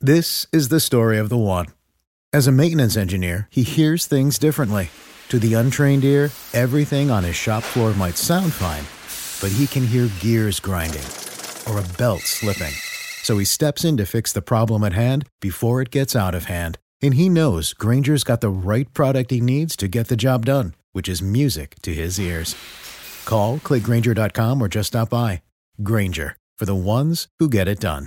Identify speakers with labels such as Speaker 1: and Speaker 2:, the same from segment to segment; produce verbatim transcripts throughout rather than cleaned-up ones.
Speaker 1: This is the story of the one. As a maintenance engineer, he hears things differently. To the untrained ear, everything on his shop floor might sound fine, but he can hear gears grinding or a belt slipping. So he steps in to fix the problem at hand before it gets out of hand. And he knows Grainger's got the right product he needs to get the job done, which is music to his ears. Call, click Grainger dot com, or just stop by. Grainger, for the ones who get it done.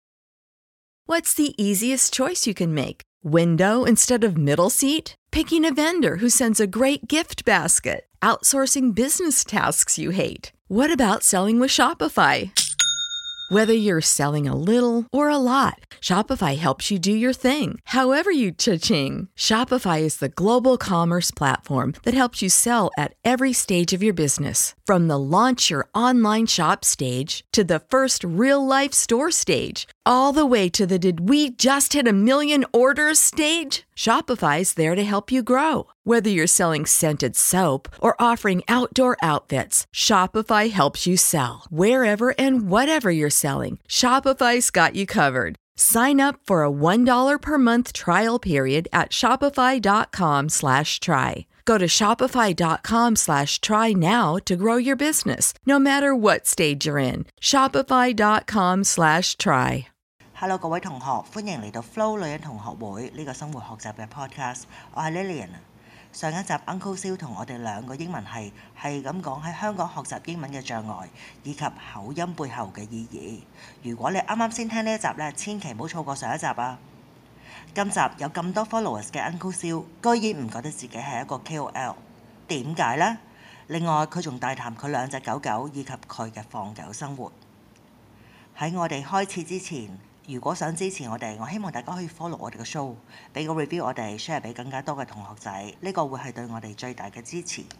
Speaker 2: What's the easiest choice you can make? Window instead of middle seat? Picking a vendor who sends a great gift basket? Outsourcing business tasks you hate? What about selling with Shopify? Whether you're selling a little or a lot, Shopify helps you do your thing, however you cha-ching. Shopify is the global commerce platform that helps you sell at every stage of your business. From the launch your online shop stage to the first real-life store stage, all the way to the did we just hit a million orders stage. Shopify's there to help you grow. Whether you're selling scented soap or offering outdoor outfits, Shopify helps you sell. Wherever and whatever you're selling, Shopify's got you covered. Sign up for a one dollar per month trial period at shopify.com slash try. Go to shopify.com slash try now to grow your business, no matter what stage you're in. Shopify.com slash try.
Speaker 3: Hello 各位同學，歡迎嚟到 Flo 女人同學會呢個生活學習嘅 podcast。我係 Lillian。上一集 Uncle Siu 同我哋兩個英文係係咁講喺香港學習英文嘅障礙，以及口音背後嘅意義。如果你啱啱先聽呢一集呢，千祈唔好錯過上一集啊！今集有咁多 followers 嘅 Uncle Siu，居然唔覺得自己係一個 K O L， 點解呢？另外佢仲大談佢兩隻狗狗以及佢嘅放狗生活。喺我哋開始之前，如果想支持我哋，我希望大家可以 follow 我哋嘅 show， 俾個 review 我哋 share 俾更加多嘅同學仔，呢個會係對我哋最大嘅支持。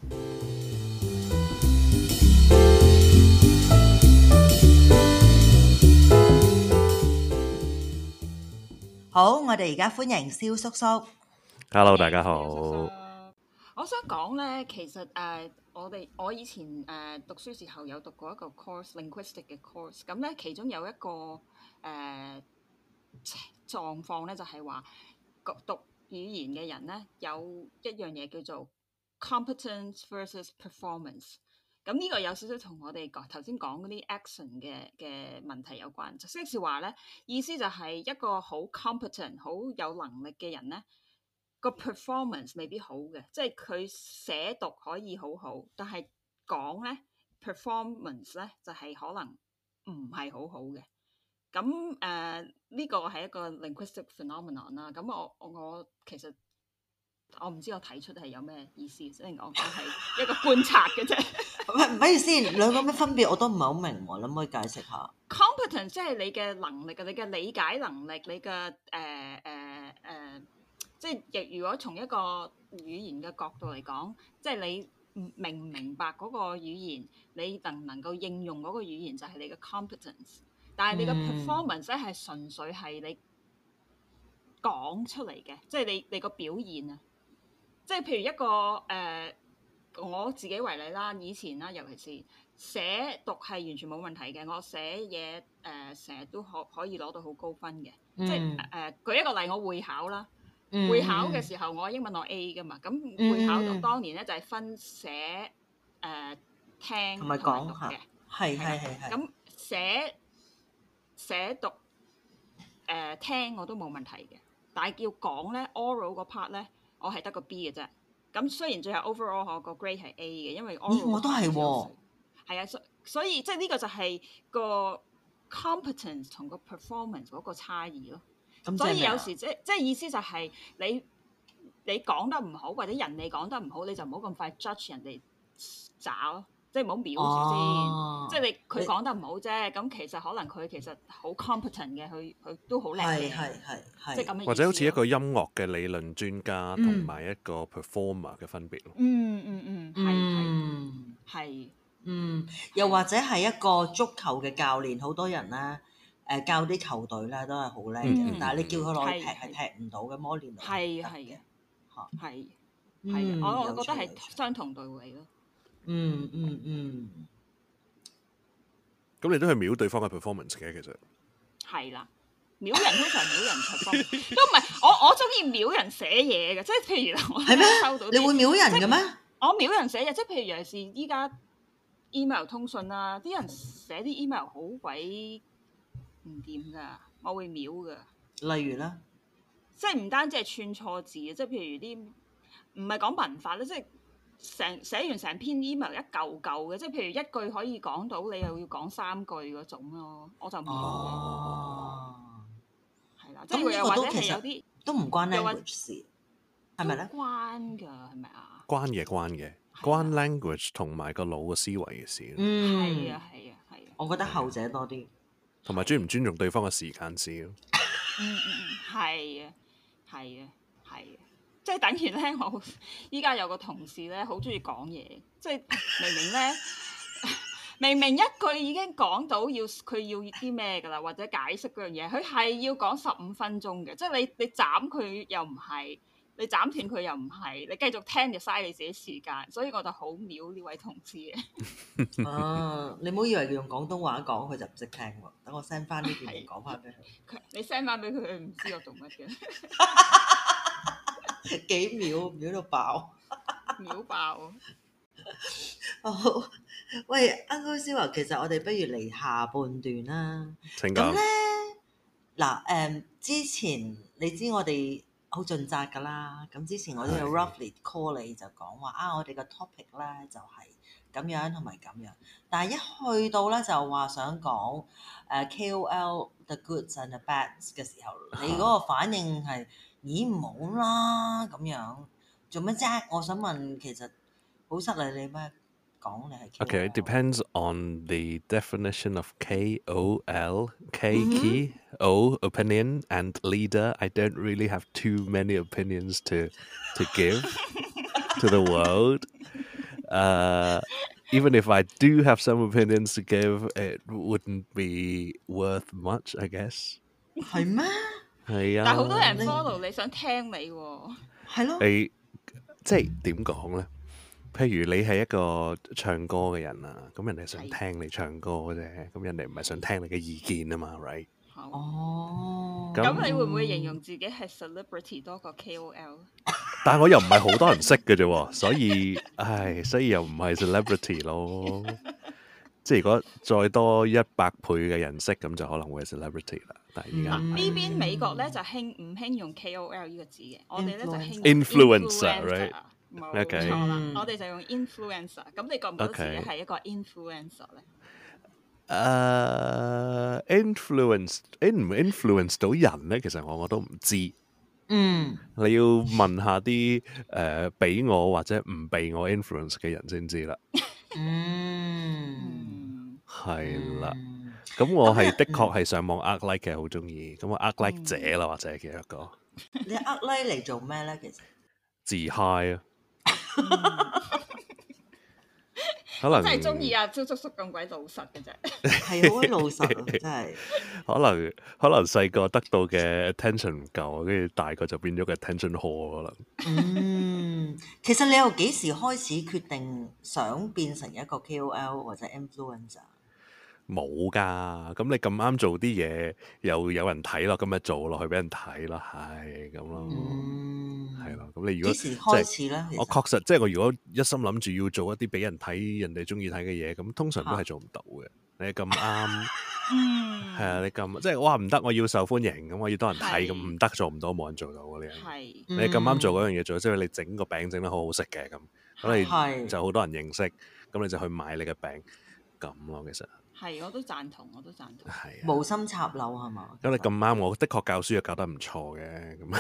Speaker 3: 好，我哋而家歡迎蕭叔叔。
Speaker 4: Hello， 大家好。
Speaker 5: 我想講咧，其實誒、呃，我哋我以前誒、呃、讀書時候有讀過一個 course，linguistic 嘅 course， 咁咧其中有一個誒、呃、狀況咧，就係話讀語言嘅人咧有一樣嘢叫做 competence versus performance。咁呢個有少少同我哋頭先講嗰啲 action 嘅嘅問題有關。即係話咧，意思就係一個好 competent、好有能力嘅人咧，個 performance 未必好嘅，即係佢寫讀可以好好，但係講咧 performance 咧就係、是、可能唔係好好嘅。咁誒呢個係一個 linguistic phenomenon 啦。咁我我其實我唔知我睇出係有咩意思，即係我講係一個觀察嘅啫。
Speaker 3: 唔係唔係先，兩個咩分別我都唔係好明喎，你可唔可以解釋下
Speaker 5: ？Competence 即係你嘅能力嘅，你嘅理解能力，你嘅誒誒誒，即係如果從一個語言嘅角度嚟講，即係你明唔明白嗰個語言，你能唔能夠應用嗰個語言就係你嘅 competence。但係你嘅 performance 咧係純粹係你講出嚟嘅，即係你你個表現啊。即係譬如一個誒、呃，我自己為例啦，以前啦，尤其是寫讀係完全冇問題嘅，我寫嘢誒成日都可可以攞到好高分嘅。嗯、即係誒、呃、舉一個例，我會考啦，嗯、會考嘅時候我英文攞 A 㗎嘛，咁會考到當年咧就係分寫誒、呃、聽同埋讀嘅，
Speaker 3: 係係係係。
Speaker 5: 咁寫寫讀誒、呃、聽我都冇問題嘅，但係要講咧 oral 嗰 part 咧。我係得個 B 嘅啫，咁雖然最後 overall 我個 grade 係 A 嘅，因為 oral
Speaker 3: 我都係喎，
Speaker 5: 係啊，所所以即係呢個就係個 competence 同個 performance 嗰個差異咯。所以有時即即係意思就係你你講得唔好，或者人哋講得唔好，你就唔好咁快 judge 人哋渣咯。即係唔好藐住先，哦、即係你佢講得唔好啫。咁其實可能佢其實好 competent 嘅，佢佢都好叻嘅。係係係，即係咁嘅意思。
Speaker 4: 或者好似一個音樂嘅理論專家同埋一個 performer 嘅分別咯。
Speaker 5: 嗯嗯嗯，係係係。
Speaker 3: 嗯，又或者係一個足球嘅教練，好多人咧誒、呃、教啲球隊咧都係好叻嘅，嗯、但係你叫佢落去踢係踢唔到嘅，摩連奴
Speaker 5: 係係嘅，嚇係係，我我覺得係相同道理咯。
Speaker 3: 嗯嗯嗯，
Speaker 4: 咁你都係秒對方嘅 performance 嘅，其實
Speaker 5: 係啦， 秒人通常秒人 perform 都唔係，我我中意秒人寫嘢嘅，即係譬如我
Speaker 3: 係咩？
Speaker 5: 收到
Speaker 3: 你會秒人嘅咩？
Speaker 5: 我秒人寫嘢，即係譬如尤其是依家 email 通訊啦，啲人寫啲 email 好鬼唔掂噶，我會秒噶。
Speaker 3: 例如咧，
Speaker 5: 即係唔單止係串錯字嘅，即係譬如啲唔係講文法咧，即係成寫完成篇 email 一嚿嚿嘅，即係譬如一句可以講到，你又要講三句嗰種咯，我就唔秒嘅。
Speaker 3: 哦，
Speaker 5: 係啦，即係又或者係有啲
Speaker 3: 都唔關 language 事，係咪咧？
Speaker 5: 關㗎，係咪啊？
Speaker 4: 關嘅關嘅，關 language 同埋個腦嘅思維嘅事。
Speaker 3: 嗯，
Speaker 5: 係啊係啊係啊。
Speaker 3: 我覺得後者多啲，
Speaker 4: 同埋尊唔尊重對方嘅時間事咯。
Speaker 5: 嗯嗯嗯，係啊係啊係啊，即係等於咧，我依家有個同事咧，好中意講嘢，即係明明咧。明明一句已經講到要佢要啲咩㗎啦，或者解釋嗰樣嘢，佢係要講十五分鐘嘅，即係你你斬佢又唔係，你斬斷佢又唔係，你繼續聽就嘥你自己時間，所以我就好秒呢位同事嘅。
Speaker 3: 啊，你唔好以為佢用廣東話講，佢就唔識聽喎。等我 send 翻呢段嚟講翻俾佢。
Speaker 5: 佢你 send 翻俾佢，佢唔知我做乜嘅。
Speaker 3: 幾秒秒到爆，
Speaker 5: 秒爆。
Speaker 3: 好，喂 Uncle Siu 話，其實我哋不如嚟下半段啦。
Speaker 4: 請講。
Speaker 3: 咁咧嗱誒，之前你知我哋好盡責㗎啦。咁之前我都有 roughly call 你就講話啊，我哋個 topic 咧就係咁樣同埋咁樣。但係一去到咧就話想講誒 K O L the goods and the bads 嘅時候，你嗰個反應係咦唔好啦咁樣，做乜啫？我想問，其實好失禮你咩？講你係 K O L。
Speaker 4: Okay, it depends on the definition of K O L. K key, O opinion, and leader. I don't really have too many opinions to to give to the world. Uh, even if I do have some opinions to give, it wouldn't be worth much, I guess.
Speaker 3: 係咩？
Speaker 4: 係啊。
Speaker 5: 但係好多人 follow 你想聽你喎。
Speaker 3: 係咯。
Speaker 4: 你即係點講咧？譬如你係一個唱歌嘅人啊，咁人哋想聽你唱歌啫，咁人哋唔係想聽你嘅意見啊嘛 ，right？
Speaker 3: 哦。
Speaker 5: 咁你會唔會形容自己係 celebrity 多過 K O L？
Speaker 4: 但係我又唔係好多人識嘅啫，所以唉，所以又唔係 celebrity 咯。即係如果再多一百倍嘅人識，咁就可能會係 celebrity 啦。但係而家
Speaker 5: 呢邊美國咧就興唔興用 K O L 呢個字嘅，我哋咧就興
Speaker 4: influencer，right？
Speaker 5: 冇
Speaker 4: Okay.
Speaker 5: 錯啦，我哋就用 influencer。咁你覺唔覺得自己係一個 influencer 咧？
Speaker 4: 誒、uh, influence in 唔 influence 到人咧，其實我我都唔知。
Speaker 3: 嗯，
Speaker 4: 你要問下啲誒俾我或者唔俾我 influence 嘅人先知啦。
Speaker 3: 嗯，
Speaker 4: 係啦。咁我係的確係上網呃 like 嘅，好中意。咁我呃 like 者啦，或者叫一個。
Speaker 3: 你呃 like 嚟做咩咧？其實
Speaker 4: 自 high 啊！可能
Speaker 5: 真係中意阿招叔叔咁鬼老實嘅啫，
Speaker 3: 係好鬼老實啊！真係
Speaker 4: 可能可能細個得到嘅 attention 唔夠，跟住大個就變咗個 attention whore 可能。
Speaker 3: 嗯，其實你由幾時開始決定想變成一個 K O L 或者 influencer？
Speaker 4: 冇㗎，咁你咁啱做啲嘢又有人睇咯，咁咪做落去俾人睇咯，係咁咯，係咯、嗯。咁你如果
Speaker 3: 幾時開始咧？
Speaker 4: 我確實即係我如果一心諗住要做一啲俾人睇、人哋中意睇嘅嘢，咁通常都係做唔到嘅。你咁啱，係啊，你咁即係哇唔得，我要受歡迎，咁我要多人睇，咁唔得做唔到，冇人做到嘅呢樣。
Speaker 5: 係
Speaker 4: 你咁啱做嗰樣嘢做，即係你整個餅整得好好食嘅咁，咁你就好多人認識，咁你就去買你嘅餅咁咯，其實。
Speaker 5: 係，我都贊同，我都贊同。
Speaker 4: 係
Speaker 3: 無心插柳係嘛？
Speaker 4: 咁你咁啱，我的確教書又教得唔錯嘅，咁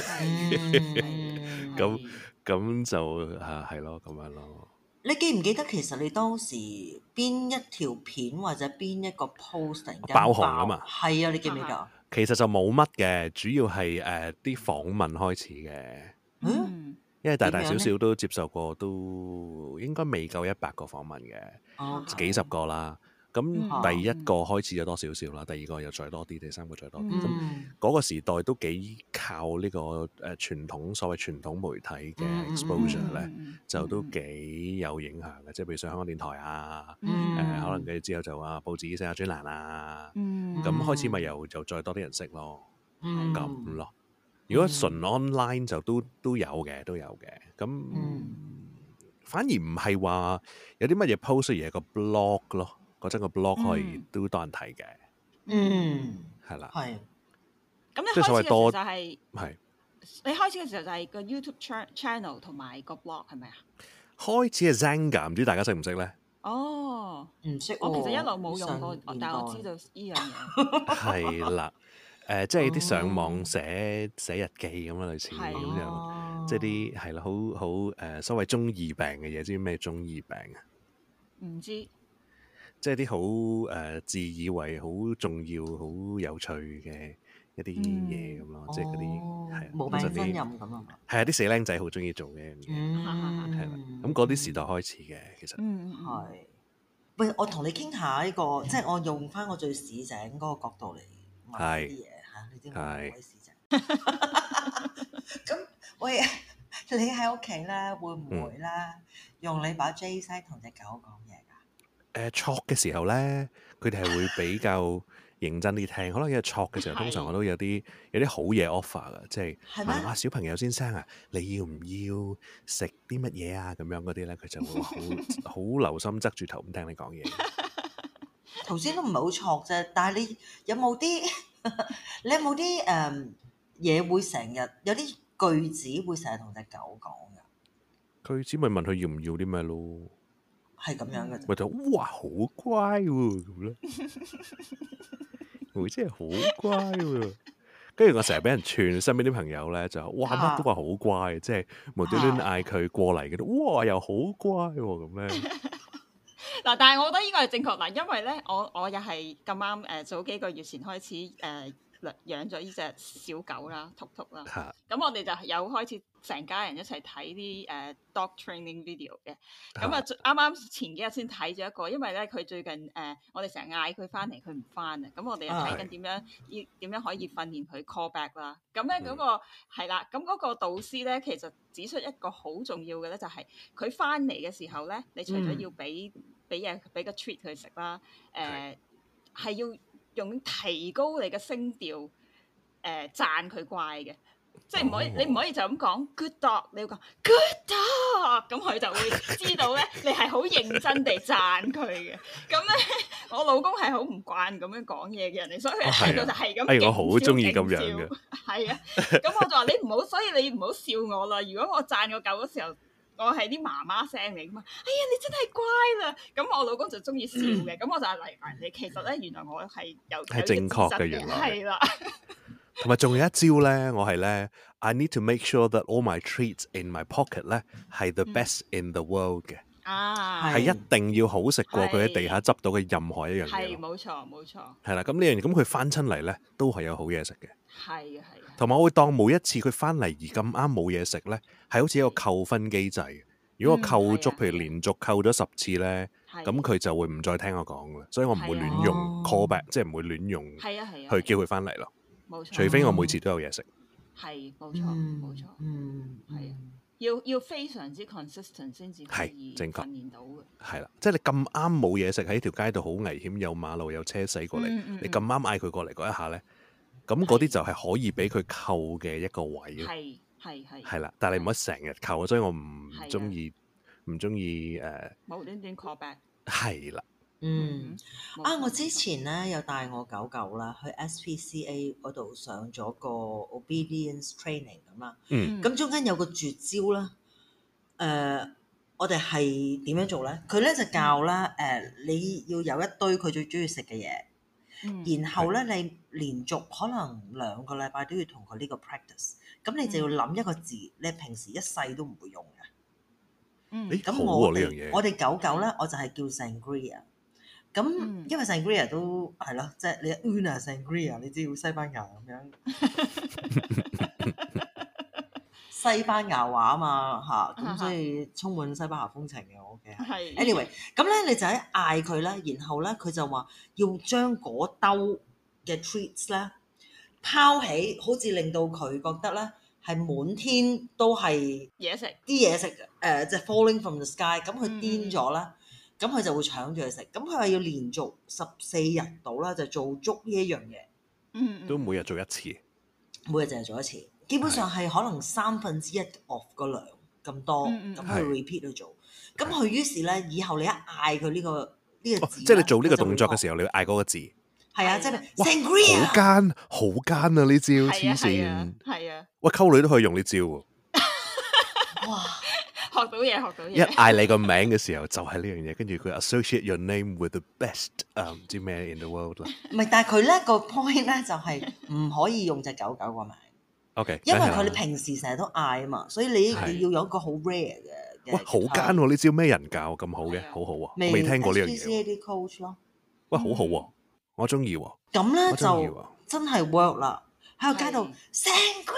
Speaker 4: 咁咁就啊係咯，咁樣咯。
Speaker 3: 你記唔記得其實你當時邊一條片或者邊一個 post 突然間
Speaker 4: 爆紅啊嘛？
Speaker 3: 係啊，你記唔記得？
Speaker 4: 其實就冇乜嘅，主要係誒啲訪問開始嘅。
Speaker 3: 嗯，
Speaker 4: 因為大大小小都接受過，都應該未夠一百個訪問嘅，
Speaker 3: 哦，
Speaker 4: 幾十個啦。咁第一個開始咗多少少啦，第二個又再多啲，第三個再多啲。咁嗰個時代都幾靠呢個誒傳統所謂傳統媒體嘅 exposure 咧，就都幾有影響嘅。即係譬如上香港電台啊，誒可能跟住之後就話報紙寫下專欄啊，咁開始咪又就再多啲人識咯。
Speaker 3: 嗯
Speaker 4: 咁咯。如果純 online 就都都有嘅，都有嘅。咁、
Speaker 3: 嗯、
Speaker 4: 反而唔係話有啲乜嘢 post 而係個 blog 咯，嗰陣個 blog 可以都多人睇嘅。
Speaker 3: 嗯，
Speaker 4: 係啦，
Speaker 3: 係。
Speaker 5: 咁你
Speaker 4: 即係所謂
Speaker 5: 開始嘅時候
Speaker 4: 多
Speaker 5: 就係、
Speaker 4: 係
Speaker 5: 你開始嘅時候就係個 YouTube channel 同埋個 blog 係咪啊？
Speaker 4: 開始係 Xanga，唔知大家識唔識咧？
Speaker 5: 哦，
Speaker 3: 唔識喎，
Speaker 5: 我其實一路冇用過，
Speaker 3: 上年代
Speaker 5: 但係我知道呢樣嘢。
Speaker 4: 係啦，誒，即係啲上網寫寫日記咁啦，類似咁
Speaker 5: 係
Speaker 4: 樣，即係啲係啦，好好誒所謂中二病嘅嘢，知唔知咩中二病啊？
Speaker 5: 唔知，
Speaker 4: 即係啲好誒自以為好重要、好有趣嘅一啲嘢咁咯，即係嗰啲係
Speaker 3: 無病呻吟咁啊嘛。
Speaker 4: 係啊，啲死僆仔好中意做嘅一樣嘢，
Speaker 3: 嗯，
Speaker 4: 係啦。咁嗰啲時代開始嘅，其實
Speaker 5: 嗯
Speaker 3: 係。喂，我同你傾下呢個，即係我用翻我最市井嗰個角度嚟問啲嘢嚇，你知我唔鬼市井。咁喂，你喺屋企咧會唔會咧用你把 J 西同隻狗講嘢㗎？
Speaker 4: 誒錯嘅時候咧，佢哋係會比較認真啲聽，可能因為錯嘅時候，通常我都有啲有啲好嘢 offer 㗎，即係問話小朋友先生啊，你要唔要食啲乜嘢啊？咁樣嗰啲咧，佢就會好好留心側住頭咁聽你講嘢。
Speaker 3: 頭先都唔係好錯啫，但係你有冇啲你有冇啲誒嘢會成日有啲句子會成日同隻狗講㗎？
Speaker 4: 句子咪問佢要唔要啲咩咯？
Speaker 3: 係咁樣嘅啫。
Speaker 4: 咪就哇好乖喎咁咧，會真係好乖喎。跟住我成日俾人串，身邊啲朋友咧就哇乜都話好乖，即係無端端嗌佢過嚟嘅，哇又好乖喎咁咧。
Speaker 5: 嗱，但係我覺得呢個係正確嗱，因為咧，我我又係咁啱誒，早幾個月前開始誒、呃、養咗呢隻小狗啦，禿禿啦。咁、啊、我哋就有開始成家人一齊睇啲誒 dog training video 嘅。咁啊，啱啱前幾日先睇咗一個，因為咧佢最近誒、呃，我哋成日嗌佢翻嚟，佢唔翻啊。咁我哋又睇緊點樣要點樣可以訓練佢 call back 啦。咁咧嗰個係啦，咁嗰個導師咧其實指出一個好重要嘅咧，就係佢翻嚟嘅時候咧，你除咗要俾俾嘢俾個 treat 佢食啦，誒係要用提高你嘅聲調，誒讚佢乖嘅，即係唔可以，你唔可以就咁講 good dog，你要講 good dog，咁佢就會知道咧，你係好認真地讚佢嘅。咁咧，我老公係好唔慣咁樣講嘢嘅人嚟，所以佢睇到就係咁。
Speaker 4: 哎，我好中意咁樣嘅。
Speaker 5: 係啊，咁我就話你唔好，所以你唔好笑我啦。如果我讚個狗嗰時候，我係啲媽媽聲嚟噶嘛，哎呀你真係乖啦，咁我老公就中意笑嘅，咁、嗯、我就係嚟埋你，其實咧原來我係有係正確嘅，原來係啦。
Speaker 4: 同埋仲有一招咧，我係咧 I need to make sure that all my treats in my pocket 咧係 the best in the world 嘅，
Speaker 5: 啊
Speaker 4: 係一定要好食過佢喺地下執到嘅任何一樣嘢。
Speaker 5: 係冇錯冇錯。
Speaker 4: 係啦，咁呢樣咁佢翻親嚟咧都係有好嘢食嘅。
Speaker 5: 係啊係啊。同
Speaker 4: 埋我會當每一次佢翻嚟而咁啱冇嘢食咧，係好似一個扣分機制。如果我扣足，嗯、譬如連續扣咗十次咧，咁佢就會唔再聽我講嘅，所以我唔會亂用 call back，即係唔會亂用去叫佢翻嚟咯。冇錯，除非我每次都有嘢食。
Speaker 5: 係冇錯冇錯，嗯，係啊，要要非常之 consistent 先至可以訓練到嘅。係啦，
Speaker 4: 即係你咁啱冇嘢食喺條街度好危險，有馬路有車駛過嚟，嗯嗯、你咁啱嗌佢過嚟嗰一下咧，咁嗰啲就係可以俾佢扣嘅一個位咯。係係係。係啦，但係你唔可以成日扣，所以我唔中意唔中意誒。無端端 call back。係啦。
Speaker 3: 嗯，啊！我之前咧有帶我狗狗啦去 S P C A 嗰度上咗個 obedience training 咁啦。嗯，咁中間有個絕招啦。誒、呃，我哋係點樣做咧？佢咧就教啦，誒、呃，你要有一堆佢最中意食嘅嘢，嗯、然後咧你連續可能兩個禮拜都要同佢呢個 practice。咁你就要諗一個字，嗯、你平時一世都唔會用嘅。嗯，咁我哋、啊、我哋狗狗咧，我就係叫 Sangria。咁，嗯、因為 Sangria 都係咯，即係、就是、你 Una Sangria，你知要西班牙咁樣，西班牙話啊嘛嚇，咁所以充滿西班牙風情嘅我屋企。係。Anyway，咁咧你就喺嗌佢啦，然後咧佢就話要將嗰兜嘅 treats 咧拋起，好似令到佢覺得咧係滿天都係嘢食，啲嘢食誒，即、呃、係、就是、falling from the sky，咁佢癲咗啦。嗯咁佢就會搶住去食，咁佢話要連續十四日到啦，就做足呢一樣嘢。嗯，
Speaker 4: 都每日做一次。
Speaker 3: 每日淨係做一次，基本上係可能三分之一 of 個量咁多，
Speaker 5: 嗯嗯
Speaker 3: 咁佢 repeat 去做。咁佢於是咧，以後你一嗌佢呢個呢個字，
Speaker 4: 即係你做呢個動作嘅時候，你要嗌嗰個字。
Speaker 3: 係啊，即係
Speaker 4: 哇
Speaker 3: sangria
Speaker 4: 好奸，好奸啊！呢招黐線，
Speaker 5: 係啊，
Speaker 4: 喂，溝女都可以用呢招喎。
Speaker 3: 哇！
Speaker 5: 學到嘢，學到
Speaker 4: 一
Speaker 5: 嘢。
Speaker 4: 嗌你個名嘅時候就係呢樣嘢，跟住佢 associate your name with the best 誒唔知咩 in the world 啦。
Speaker 3: 唔係，但係佢咧個 point 咧就係唔可以用隻狗狗個名。
Speaker 4: OK，
Speaker 3: 因為佢哋平時成日都嗌啊嘛，所以你
Speaker 4: 係
Speaker 3: 你要有一個好 rare 嘅。
Speaker 4: 喂，好奸喎！呢招咩人教咁好嘅？好好啊，我未聽過呢樣嘢。
Speaker 3: H P C A 啲 coach 咯。
Speaker 4: 喂，好好喎，我中意喎。
Speaker 3: 咁咧
Speaker 4: 我鍾意
Speaker 3: 就
Speaker 4: 喎
Speaker 3: 真係 work 啦，喺個街度
Speaker 5: 係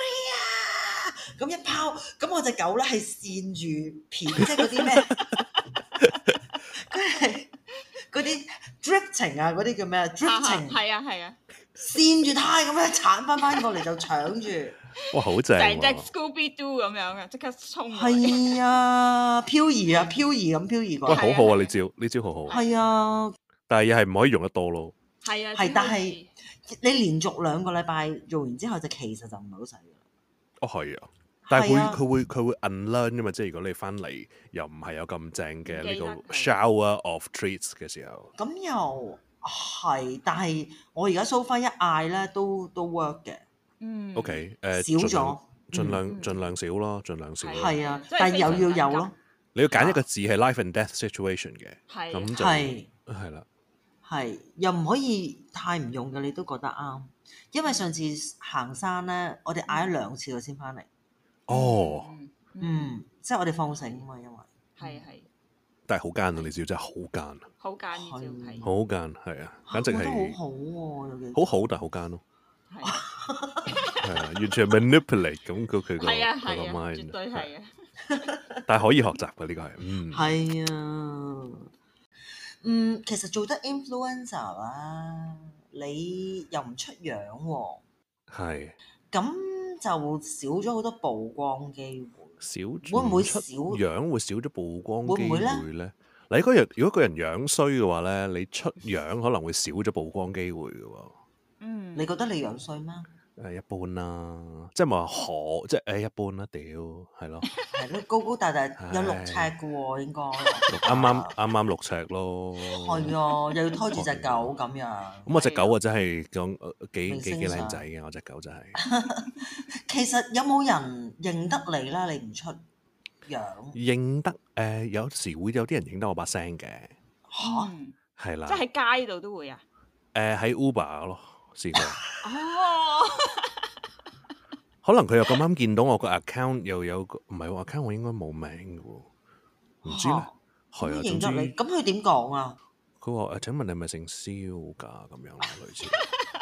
Speaker 3: sangria 咁一拋，咁我隻狗咧係跣住片，即係嗰啲咩？佢係嗰啲 drifting 啊，嗰啲叫咩啊？drifting
Speaker 5: 係啊係啊，
Speaker 3: 跣住胎咁樣鏟翻翻過嚟就搶住。
Speaker 4: 哇，好正
Speaker 5: 成隻
Speaker 4: 喎！
Speaker 5: Scooby Doo 咁樣嘅，即刻衝。
Speaker 3: 係啊，漂移啊，漂移咁漂移過
Speaker 4: 喂，
Speaker 3: 嚟。
Speaker 4: 好好啊！呢招呢招好好。
Speaker 3: 係啊，
Speaker 4: 但係又係唔可以用得多咯。
Speaker 5: 係啊，
Speaker 3: 係，但係你連續兩個禮拜做完之後，就其實就唔係好使㗎啦。
Speaker 4: 哦，係啊。但係佢
Speaker 3: 係啊
Speaker 4: 佢會佢會 unlearn 㗎嘛，即係如果你翻嚟又唔係有咁正嘅呢
Speaker 5: 唔記得
Speaker 4: 個 shower of treats 嘅時候，
Speaker 3: 咁又係，但係我而家 so far 一嗌咧都都 work 嘅。
Speaker 5: 嗯
Speaker 4: OK 誒
Speaker 3: 少咗，
Speaker 4: 盡量
Speaker 5: 嗯
Speaker 4: 盡量少咯，盡量少咯。
Speaker 3: 係啊，
Speaker 5: 即係
Speaker 3: 但係又
Speaker 5: 非常
Speaker 3: 要有咯，
Speaker 4: 你要揀一個字係 life and death situation 嘅，
Speaker 5: 係
Speaker 4: 咁就
Speaker 3: 係
Speaker 4: 係啦。
Speaker 3: 係又唔可以太唔用嘅，你都覺得啱。因為上次行山咧，我哋嗌咗兩次佢先翻嚟。
Speaker 4: 哦，
Speaker 5: 嗯，
Speaker 3: 嗯，即係我哋放繩啊嘛，因為
Speaker 5: 係係
Speaker 4: 但係好奸啊！你知真係好奸啊，
Speaker 5: 好簡呢招係
Speaker 4: 好奸係啊，簡直
Speaker 3: 我覺得
Speaker 4: 係
Speaker 3: 好好喎，有幾
Speaker 4: 好好，但係好奸咯，
Speaker 5: 係
Speaker 4: 係啊，完全係 manipulate 咁佢佢個
Speaker 5: 係啊
Speaker 4: 佢個
Speaker 5: 係啊，
Speaker 4: mind，
Speaker 5: 絕對係啊。
Speaker 4: 但係可以學習嘅呢個係，嗯，
Speaker 3: 係啊。嗯，其實做得 influencer 啦，你又唔出樣喎，
Speaker 4: 係
Speaker 3: 咁就少咗好多曝光機會。
Speaker 4: 少
Speaker 3: 會唔會
Speaker 4: 出
Speaker 3: 少
Speaker 4: 樣會少咗曝光機
Speaker 3: 會唔會呢
Speaker 4: 會咧？嗱，如果人如果個人樣衰嘅話咧，你出樣可能會少咗曝光機會嘅喎。
Speaker 5: 嗯，
Speaker 3: 你覺得你樣衰咩？
Speaker 4: 誒一般啦，即係唔係話可，即係誒一般啦，屌係咯，
Speaker 3: 係咯，高高大大有六尺嘅喎，應該
Speaker 4: 啱啱啱啱六尺咯。
Speaker 3: 係啊，又要拖住隻狗咁樣。
Speaker 4: 咁我隻狗啊真係講呃幾
Speaker 3: 明
Speaker 4: 幾
Speaker 3: 星相
Speaker 4: 幾靚仔嘅，我隻狗真係。
Speaker 3: 其實有冇人認得你啦？你唔出樣
Speaker 4: 認得誒、呃，有時會有啲人認得我把聲嘅，
Speaker 3: 嚇？
Speaker 5: 嗯
Speaker 4: 係啦。
Speaker 5: 即係喺街度都會啊。
Speaker 4: 誒喺 Uber 咯，試過。
Speaker 5: 哦，
Speaker 4: 可能佢又咁啱見到我個 account 又有個唔係喎 account，我應該冇名嘅喎，唔知咧。係啊，總之
Speaker 3: 認得你，咁佢點講啊？
Speaker 4: 佢話誒，請問你係咪姓蕭㗎？咁樣啦，類似。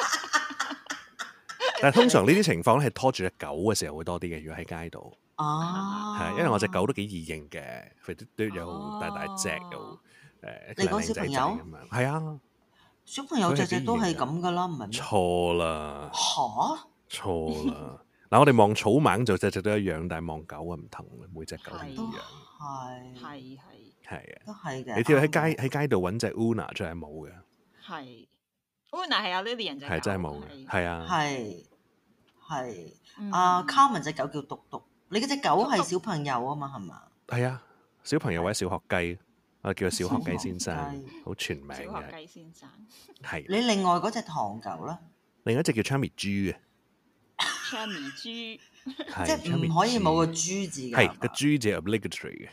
Speaker 4: 但係通常呢啲情況咧係拖住隻狗嘅時候會多啲嘅，如果喺街度。
Speaker 3: 啊，
Speaker 4: 係啊，因為我隻狗都幾易認嘅，肥嘟嘟又大大隻又誒，
Speaker 3: 你講小朋友
Speaker 4: 咁樣，係啊，
Speaker 3: 小朋友隻隻都係咁噶啦，唔係咩？
Speaker 4: 錯啦，
Speaker 3: 嚇！
Speaker 4: 錯啦。嗱，我哋望草蜢就隻隻都一樣，但係望狗啊唔同嘅，每隻狗唔一
Speaker 3: 都
Speaker 4: 樣。
Speaker 3: 係
Speaker 5: 係係
Speaker 4: 係啊，
Speaker 3: 都係嘅。
Speaker 4: 你跳喺
Speaker 3: 啱嘅
Speaker 4: 街喺街度揾隻 Una 真係冇嘅，
Speaker 5: 係。Una 係有 Lilian 隻狗
Speaker 4: 係真係冇嘅，係啊，
Speaker 3: 係係
Speaker 5: 嗯
Speaker 3: 阿 Carmen 隻狗叫篤篤，你嗰隻狗係小朋友啊嘛，係嘛？
Speaker 4: 係啊，小朋友或者小學雞，我叫佢小學雞先生
Speaker 3: 小學雞，
Speaker 4: 好全名
Speaker 5: 小學
Speaker 4: 嘅，
Speaker 5: 雞先生
Speaker 4: 係。
Speaker 3: 你另外嗰隻唐狗咧，
Speaker 4: 另一隻叫 Chammy 豬嘅，
Speaker 5: ，Chammy 豬
Speaker 4: 係
Speaker 3: 即係
Speaker 4: Chammy
Speaker 3: 唔可以冇個
Speaker 4: 豬
Speaker 3: 豬字㗎。
Speaker 4: 係個
Speaker 3: 係嘛
Speaker 4: 豬字係 obligatory 嘅。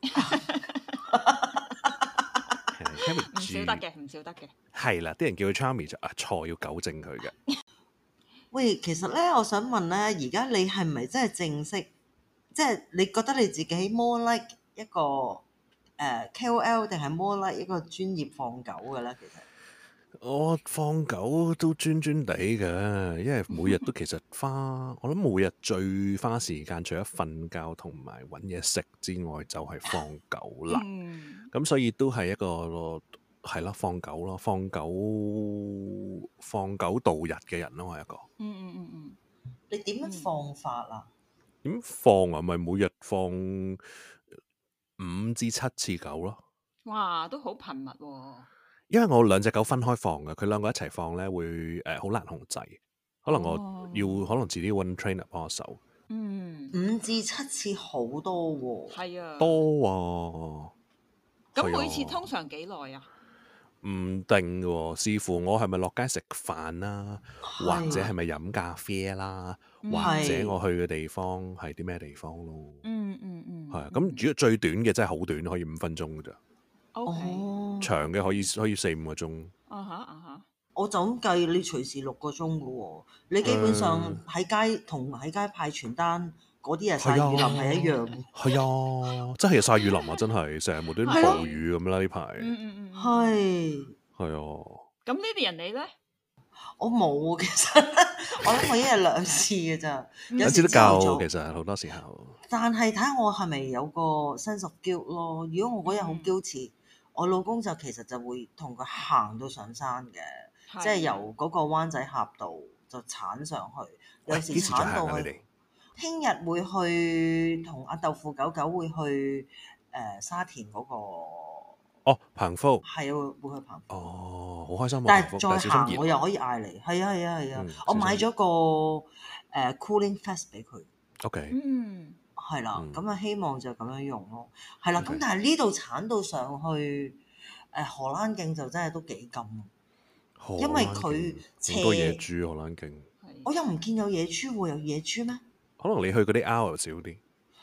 Speaker 4: 係 Chammy
Speaker 5: 唔少
Speaker 4: 豬
Speaker 5: 得嘅，唔少得嘅。
Speaker 4: 係啦，啲人叫佢 Chammy 就啊錯，要糾正佢嘅。
Speaker 3: 喂，其實咧，我想問咧，而家你係咪真係正式？即係你覺得你自己 more like 一個誒、呃、K O L 定係 more like 一個專業放狗嘅咧？其實
Speaker 4: 我放狗都專專地嘅，因為每日都其實花，我諗每日最花時間，除咗瞓覺同埋揾嘢食之外，就係、放狗啦。
Speaker 5: 嗯，
Speaker 4: 咁所以都係一個係咯，放狗咯，放狗放狗度日嘅人咯，我係一個。
Speaker 5: 嗯嗯嗯嗯，
Speaker 3: 你點樣放法啊？
Speaker 4: 點放啊？咪每日放五至七次狗咯。
Speaker 5: 哇，都好頻密喎。
Speaker 4: 因為我兩隻狗分開放嘅，佢兩個一齊放咧會誒好、呃、難控制。 可能我要、哦、可能自己揾 trainer 幫我手。
Speaker 5: 嗯，
Speaker 3: 五至七次好多喎、哦。
Speaker 5: 係啊，
Speaker 4: 多啊。
Speaker 5: 咁每次通常幾耐啊？
Speaker 4: 唔定嘅喎，視乎我係咪落街食飯啦，或者係咪飲咖啡啦，或者我去嘅地方係啲咩地方咯。
Speaker 5: 嗯嗯嗯，
Speaker 4: 係啊，咁如果最短嘅真係好短，可以五分鐘嘅咋。
Speaker 5: O K，
Speaker 4: 長嘅可以可以四五個鐘。
Speaker 5: 啊哈啊哈，
Speaker 3: 我就咁計，你隨時六個鐘嘅喎，你基本上喺街同喺街派傳單嗰啲日曬雨淋係一樣嘅。
Speaker 4: 係啊，真係日曬雨淋啊！真係成日無端端暴雨咁啦呢排。
Speaker 5: 嗯嗯嗯，
Speaker 3: 係
Speaker 4: 係啊。
Speaker 5: 咁呢啲人你咧？
Speaker 3: 我冇其實，我諗我一日兩次嘅咋，有
Speaker 4: 時都夠。其實好多時候。但
Speaker 3: 係睇下我係咪有個 sense of guilt 咯。如果我嗰日好 guilty，我老公就其實就會同佢行到上山嘅，即係由嗰個灣仔峽道就鏟上去。有時鏟到去。聽日會去同阿豆腐狗狗會去誒沙田嗰個。
Speaker 4: 哦，彭福
Speaker 3: 係啊，會去彭福。
Speaker 4: 哦，好開心啊！
Speaker 3: 但係再行我又可以嗌你，係啊係啊係啊！我買咗個誒 cooling vest 俾佢。
Speaker 4: OK。
Speaker 5: 嗯。
Speaker 3: 係啦，咁啊希望就咁樣用咯。係啦，咁但係呢度鏟到上去誒荷蘭徑就真係都幾勁，因為佢
Speaker 4: 好多野豬荷蘭徑。
Speaker 3: 我又唔見有野豬喎，有野豬咩？
Speaker 4: 可能你去嗰啲 hour 少啲。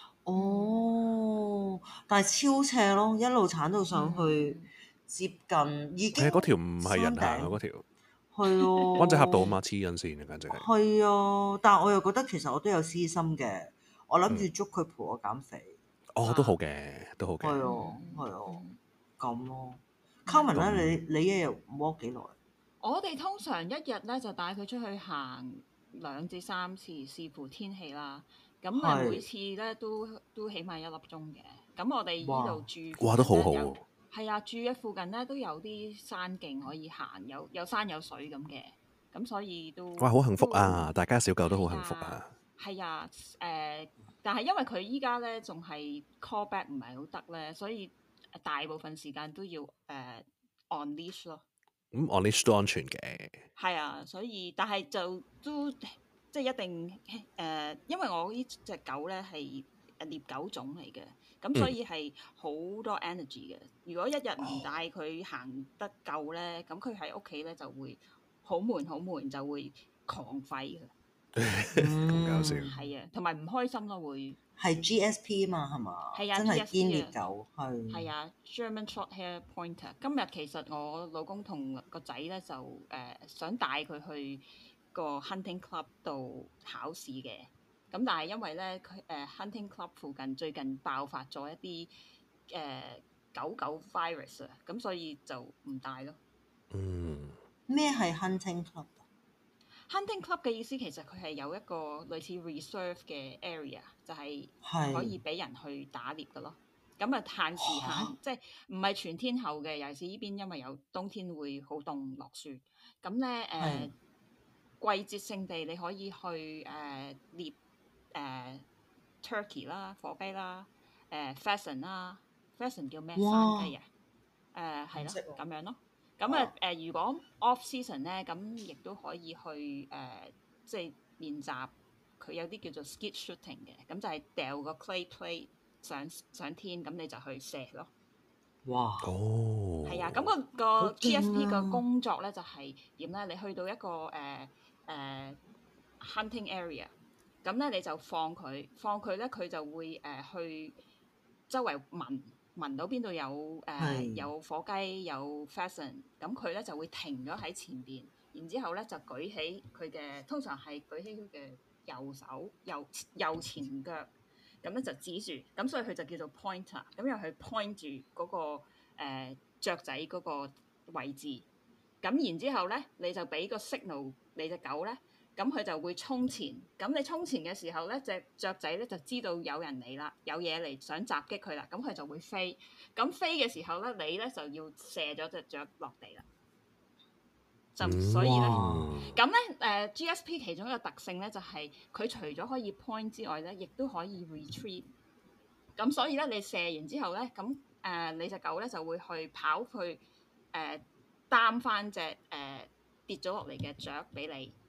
Speaker 3: 哦，但係超斜咯，一路鏟到上去，接近已經。
Speaker 4: 嗰條唔係人行嗰條。
Speaker 3: 係咯。
Speaker 4: 灣仔峽道啊嘛，黐緊線啊，簡直係。
Speaker 3: 係啊，但係我又覺得其實我都有私心嘅，我諗住捉佢陪我減肥。
Speaker 4: 哦，都好嘅，都好嘅。
Speaker 3: 係啊，係啊，咁咯。Carmen 咧，你你一日 walk 幾耐？
Speaker 5: 我哋通常一日咧就帶佢出去行兩至三次，視乎天氣啦。咁啊，每次咧都都起碼一粒鐘嘅。咁我哋呢度住，
Speaker 4: 哇，都好好喎。
Speaker 5: 係啊，住嘅附近咧都有啲山徑可以行，有有山有水咁嘅。咁所以都
Speaker 4: 哇，好幸福啊！大家小狗都好幸福啊。
Speaker 5: 係啊，誒、呃，但係因為佢依家咧仲係 call back 唔係好得咧，所以大部分時間都要誒、呃、on leash 咯。
Speaker 4: 咁 on leash 都安全嘅。
Speaker 5: 係啊，所以但係就都。即係一定誒、呃，因為我呢隻狗咧係獵狗種嚟嘅，咁所以係好多 energy 嘅。如果一日唔帶佢行得夠咧，咁佢喺屋企咧就會好悶好悶，就會狂吠嘅。
Speaker 4: 咁搞笑。
Speaker 5: 係啊，同埋唔開心咯會。
Speaker 3: 係 G S P 啊嘛，係嘛？
Speaker 5: 係啊，
Speaker 3: 真係堅獵狗係。
Speaker 5: 係啊 ，German Shorthair Pointer。今日其實我老公同個仔咧就誒、呃、想帶佢去個 hunting club 度考試嘅，咁但係因為咧佢誒 hunting club 附近最近爆發咗一啲誒、呃、狗狗 virus 啊，咁所以就唔帶咯。
Speaker 4: 嗯，
Speaker 3: 咩係 hunting club？hunting
Speaker 5: club 嘅意思其實佢係有一個類似 reserve 嘅 area， 就係可以俾人去打獵嘅咯。咁啊限時限，啊、即係唔係全天候嘅，尤其是呢邊因為有冬天會好凍落雪，咁咧誒。季節性地你可以去誒、呃、獵誒、呃、turkey 啦、火雞啦、誒、呃、pheasant 啦 ，pheasant 叫咩？山雞啊？誒係咯，咁樣咯。咁啊誒，如果 off season 咧，咁亦都可以去誒、呃，即係練習。佢有啲叫做 skeet shooting 嘅，咁就係掉個 clay plate 上上天，咁你就去射咯。
Speaker 3: 哇！
Speaker 4: 哦，
Speaker 5: 係啊，咁、那個個 G S P 嘅工作咧就係點咧？你去到一個誒。呃誒、uh, hunting area， 咁咧你就放佢，放佢咧佢就會誒、uh, 去周圍聞，聞到邊度有誒、uh, 有火雞有 pheasant， 咁佢咧就會停咗喺前邊，然之後咧就舉起佢嘅，通常係舉起佢嘅右手右右前腳，咁咧就指住，咁所以佢就叫做 pointer， 咁又去 point 住嗰、那個誒、uh, 雀仔嗰個位置。咁然之後咧，你就俾個 signal 你隻狗咧，咁佢就會衝前。咁你衝前嘅時候咧，隻雀仔咧就知道有人嚟啦，有嘢嚟想襲擊佢啦，咁佢就會飛。咁飛嘅時候咧，你咧就要射咗隻雀落地啦。就所以咧，咁咧誒 G S P 其中一個特性咧，就係、是、佢除咗可以 point 之外咧，亦都可以 retrieve。咁所以咧，你射完之後咧，咁誒、呃、你隻狗咧就會去跑去誒。呃擔翻隻誒跌咗落嚟嘅雀俾你，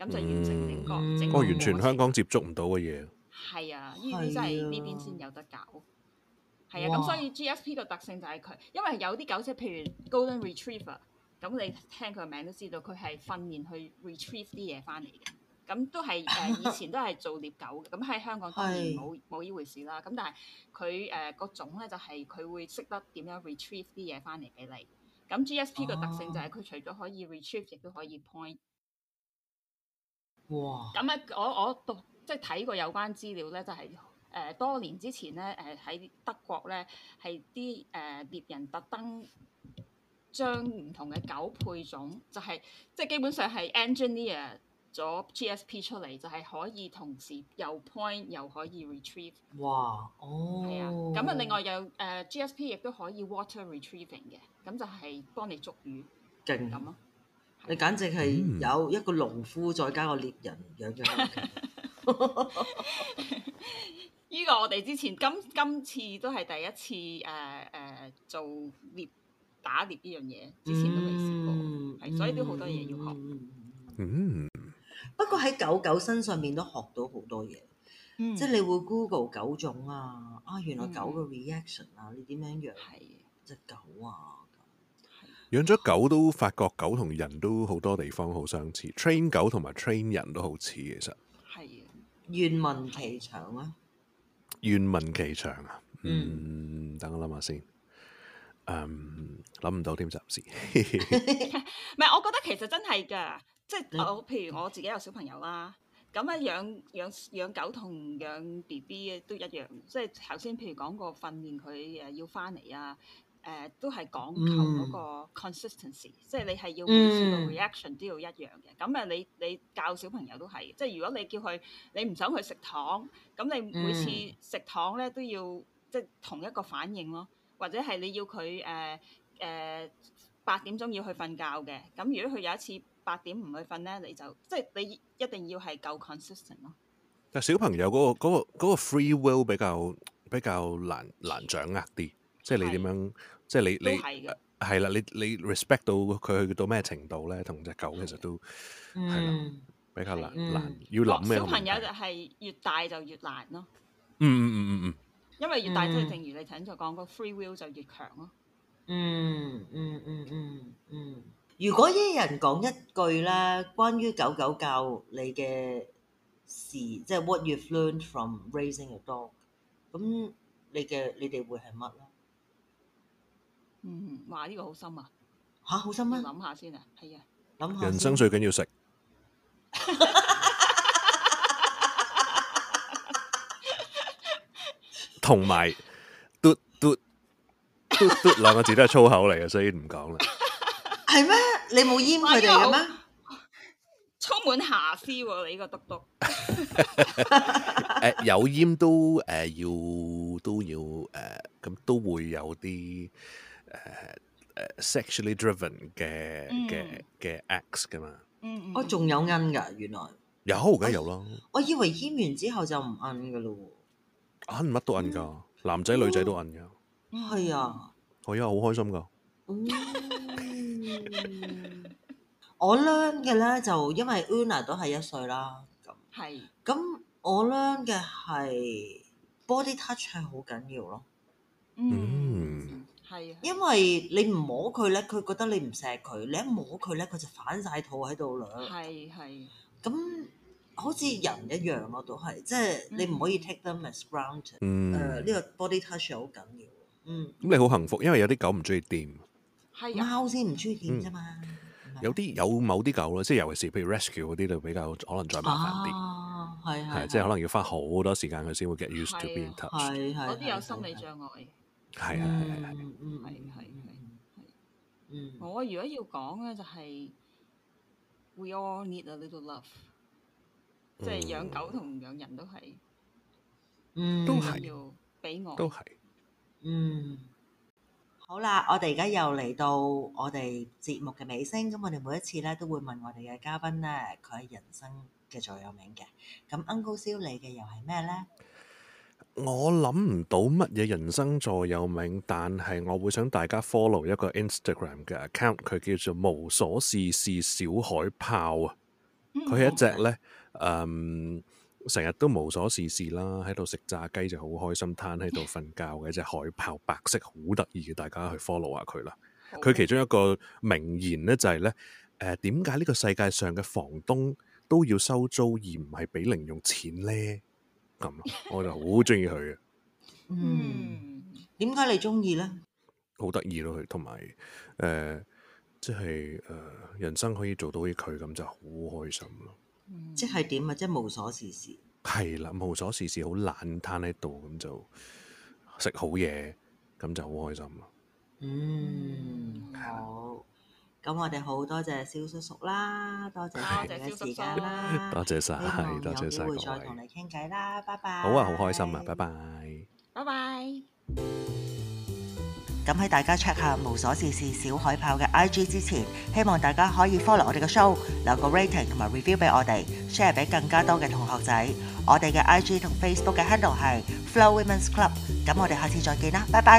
Speaker 5: 咁就完成整個、
Speaker 3: 嗯
Speaker 5: 整個
Speaker 4: 我完全
Speaker 5: 過程
Speaker 4: 香港接觸唔到嘅嘢。
Speaker 5: 係啊，呢啲真係呢邊先有得搞。係啊，咁
Speaker 3: 哇
Speaker 5: 所以 G S P 個特性就係佢，因為有啲狗隻，譬如 Golden Retriever，咁你聽佢個名都知道，佢係訓練去 retrieve 啲嘢翻嚟嘅。咁都係誒、呃，以前都係做獵狗嘅。咁喺香港當然冇冇呢回事啦。咁但係佢誒個種咧就係、是、佢會識得點樣 retrieve 啲嘢翻嚟俾你。咁 G S P 個特性就係佢除咗可以 retrieve，亦都可以 point。
Speaker 3: 哇！
Speaker 5: 咁咧，我我讀即係睇過有關資料咧，就係、是。誒、呃、多年之前咧，誒、呃、喺德國咧，係啲誒獵人特登將唔同嘅狗配種，就係、是、即係基本上係 engineer 咗 G S P 出嚟，就係、是、可以同時又 point 又可以 retrieve。
Speaker 3: 哇！哦，
Speaker 5: 係啊，咁啊另外有誒、呃、G S P 亦都可以 water retrieving 嘅，咁就係幫你捉魚
Speaker 3: 勁
Speaker 5: 咁咯。
Speaker 3: 你簡直係有一個農夫再加個獵人養咗。
Speaker 5: 呢個我哋之前今今次都係第一次誒誒、呃呃、做獵打獵呢樣嘢，之前都未試過，係、嗯、所以都好多嘢要學。
Speaker 4: 嗯，
Speaker 3: 不過喺狗狗身上面都學到好多嘢，
Speaker 5: 嗯、
Speaker 3: 即係你會 Google 狗種啊，啊原來狗嘅 reaction 啊，嗯、你點樣養隻狗啊？
Speaker 4: 養咗狗都發覺狗同人都好多地方好相似 ，train 狗同埋 train 人都好似其實。係
Speaker 3: 願聞其詳啊！
Speaker 4: 願聞其詳啊！嗯，等我諗下先。嗯，諗唔到添暫時。
Speaker 5: 唔係，我覺得其實真係㗎，即係我譬如我自己有小朋友啦，咁啊養養養狗同養 B B 都一樣，即係頭先譬如講過訓練佢誒要翻嚟啊，誒、呃、都係講求嗰個 consistency，、嗯、即係你係要每次個 reaction 都要一樣嘅。咁啊、嗯，你你教小朋友都係，即係如果你叫佢你唔想佢食糖，咁你每次食糖咧都要即係同一個反應咯，或者係你要佢誒誒八點鐘要去瞓覺嘅，咁如果佢有一次八點唔去瞓咧，你就即係你一定要係夠 consistent 咯。
Speaker 4: 但小朋友嗰、嗰個嗰、嗰個嗰個 free will 比較比較難難掌握啲，即係你點樣，是即係你你係啦，你你 respect 到佢去到咩程度咧？同隻狗其實都係啦、嗯，比較難、嗯、難要諗咩？
Speaker 5: 小朋友就係越大就越難咯。
Speaker 4: 嗯嗯嗯嗯嗯，
Speaker 5: 因為越大即係、嗯、正如你頭先所講，個 free will 就越強咯。
Speaker 3: 嗯嗯嗯嗯嗯。如果一人講一句咧，關於狗狗教你嘅事，即係 what you've learned from raising a dog， 咁你嘅你哋會係乜咧？
Speaker 5: 嗯，哇！呢、這個好深啊！
Speaker 3: 嚇，好深啊！
Speaker 5: 諗下先啊，係啊，
Speaker 3: 諗下。
Speaker 4: 人生最緊要食。同埋嘟嘟嘟嘟兩個字都係粗口嚟嘅，所以唔講啦。
Speaker 3: 係咩？你冇閹佢哋嘅咩？
Speaker 5: 充滿瑕疵喎、啊！你呢個嘟嘟。
Speaker 4: 誒有閹都誒、呃、要都要誒咁、呃、都會有啲誒誒 sexually driven 嘅嘅嘅 acts 噶嘛。
Speaker 5: 嗯嗯。
Speaker 3: 我仲有閹㗎，原來。
Speaker 4: 有梗係有啦。
Speaker 3: 我以為閹完之後就唔閹㗎咯喎。
Speaker 4: 閹乜都閹㗎，嗯、男仔女仔都閹㗎。
Speaker 3: 係啊。
Speaker 4: 係啊，好開心㗎。
Speaker 3: 嗯、我 learn 嘅咧就因為 Una 都係一歲啦，咁
Speaker 5: 係
Speaker 3: 咁我 learn 嘅係 body touch 係好緊要咯。
Speaker 5: 嗯，係啊，
Speaker 3: 因為你唔摸佢咧，佢覺得你唔錫佢；你一摸佢咧，佢就反晒肚喺度啦。
Speaker 5: 係係。
Speaker 3: 咁好似人一樣咯，都係即係你唔可以 take them as granted。
Speaker 4: 嗯，
Speaker 3: 誒呢個 body touch 好緊要。嗯，
Speaker 4: 咁你好幸福，因為有啲狗唔中意掂。
Speaker 5: 係
Speaker 3: 貓先唔中意掂啫嘛。
Speaker 4: 有啲有某啲狗咯，即係尤其是譬如 rescue 嗰啲就比較可能再麻煩啲。
Speaker 3: 啊，係係，
Speaker 4: 即係可能要花好多時間佢先會 get used to being touched。
Speaker 3: 係係，
Speaker 5: 嗰啲有心理障礙。
Speaker 4: 係係係係係。
Speaker 5: 嗯係係係。
Speaker 3: 嗯，
Speaker 5: 我如果要講咧，就係 we all need a little love，即係養狗同養人都係，
Speaker 3: 嗯，
Speaker 4: 都係
Speaker 5: 要俾我，
Speaker 4: 都係。
Speaker 3: 嗯。好啦，我哋而家又嚟到我哋節目嘅尾聲，咁我哋每一次咧都會問我哋嘅嘉賓咧，佢係人生嘅座右銘嘅。咁 Uncle Siu 你嘅又係咩咧？
Speaker 4: 我諗唔到乜嘢人生座右銘，但係我會想大家 follow 一個 Instagram 嘅 account，佢叫做無所事事小海豹啊。 佢係一隻咧，誒成日都無所事事啦，喺度食炸雞就好開心，攤喺度瞓覺嘅一隻海豹，白色好得意嘅，大家去 follow 下佢啦。佢其中一個名言咧就係、是、咧，誒點解呢個世界上嘅房東都要收租而唔係俾零用錢咧？咁我就好中意佢嘅。
Speaker 3: 嗯，點解你中意咧？
Speaker 4: 好得意咯，佢同埋誒，即係誒、呃，人生可以做到好似佢咁就好開心咯。
Speaker 3: 嗯、即係點啊？即係無所事事。係
Speaker 4: 啦，無所事事，好懶攤喺度咁就食好嘢，咁就好開心咯。
Speaker 3: 嗯，好。咁我哋好多謝蕭叔叔啦，多謝你嘅時間啦，
Speaker 4: 多謝晒，多謝晒，
Speaker 3: 有機會再同你傾偈啦，拜拜。
Speaker 4: 好啊，好開心啊，拜拜，
Speaker 5: 拜拜。
Speaker 3: 咁喺大家 check 下無所事事小海豹嘅 I G 之前，希望大家可以 follow 我哋嘅 show， 留個 rating 同埋 review 俾我哋 ，share 俾更加多嘅同學仔。我哋嘅 I G 同 Facebook 嘅 handle 係 Flo Women's Club。咁我哋下次再見啦，拜拜。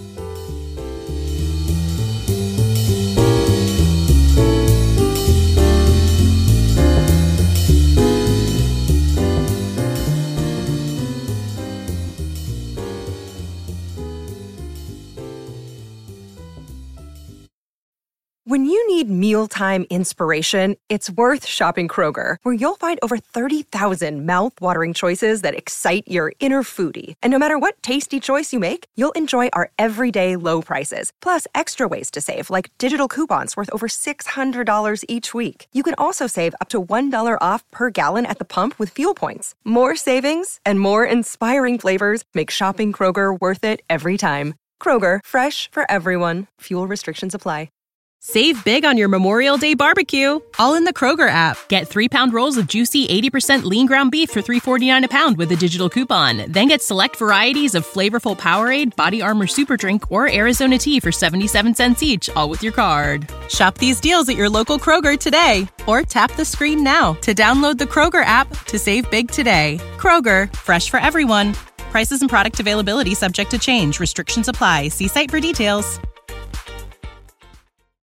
Speaker 6: When you need mealtime inspiration, it's worth shopping Kroger, where you'll find over thirty thousand mouth-watering choices that excite your inner foodie. And no matter what tasty choice you make, you'll enjoy our everyday low prices, plus extra ways to save, like digital coupons worth over six hundred dollars each week. You can also save up to one dollar off per gallon at the pump with fuel points. More savings and more inspiring flavors make shopping Kroger worth it every time. Kroger, fresh for everyone. Fuel restrictions apply.
Speaker 7: Save big on your Memorial Day barbecue, all in the Kroger app. Get three-pound rolls of juicy eighty percent lean ground beef for three forty-nine a pound with a digital coupon. Then get select varieties of flavorful Powerade, Body Armor Super Drink, or Arizona tea for seventy-seven cents each, all with your card. Shop these deals at your local Kroger today, or tap the screen now to download the Kroger app to save big today. Kroger, fresh for everyone. Prices and product availability subject to change. Restrictions apply. See site for details.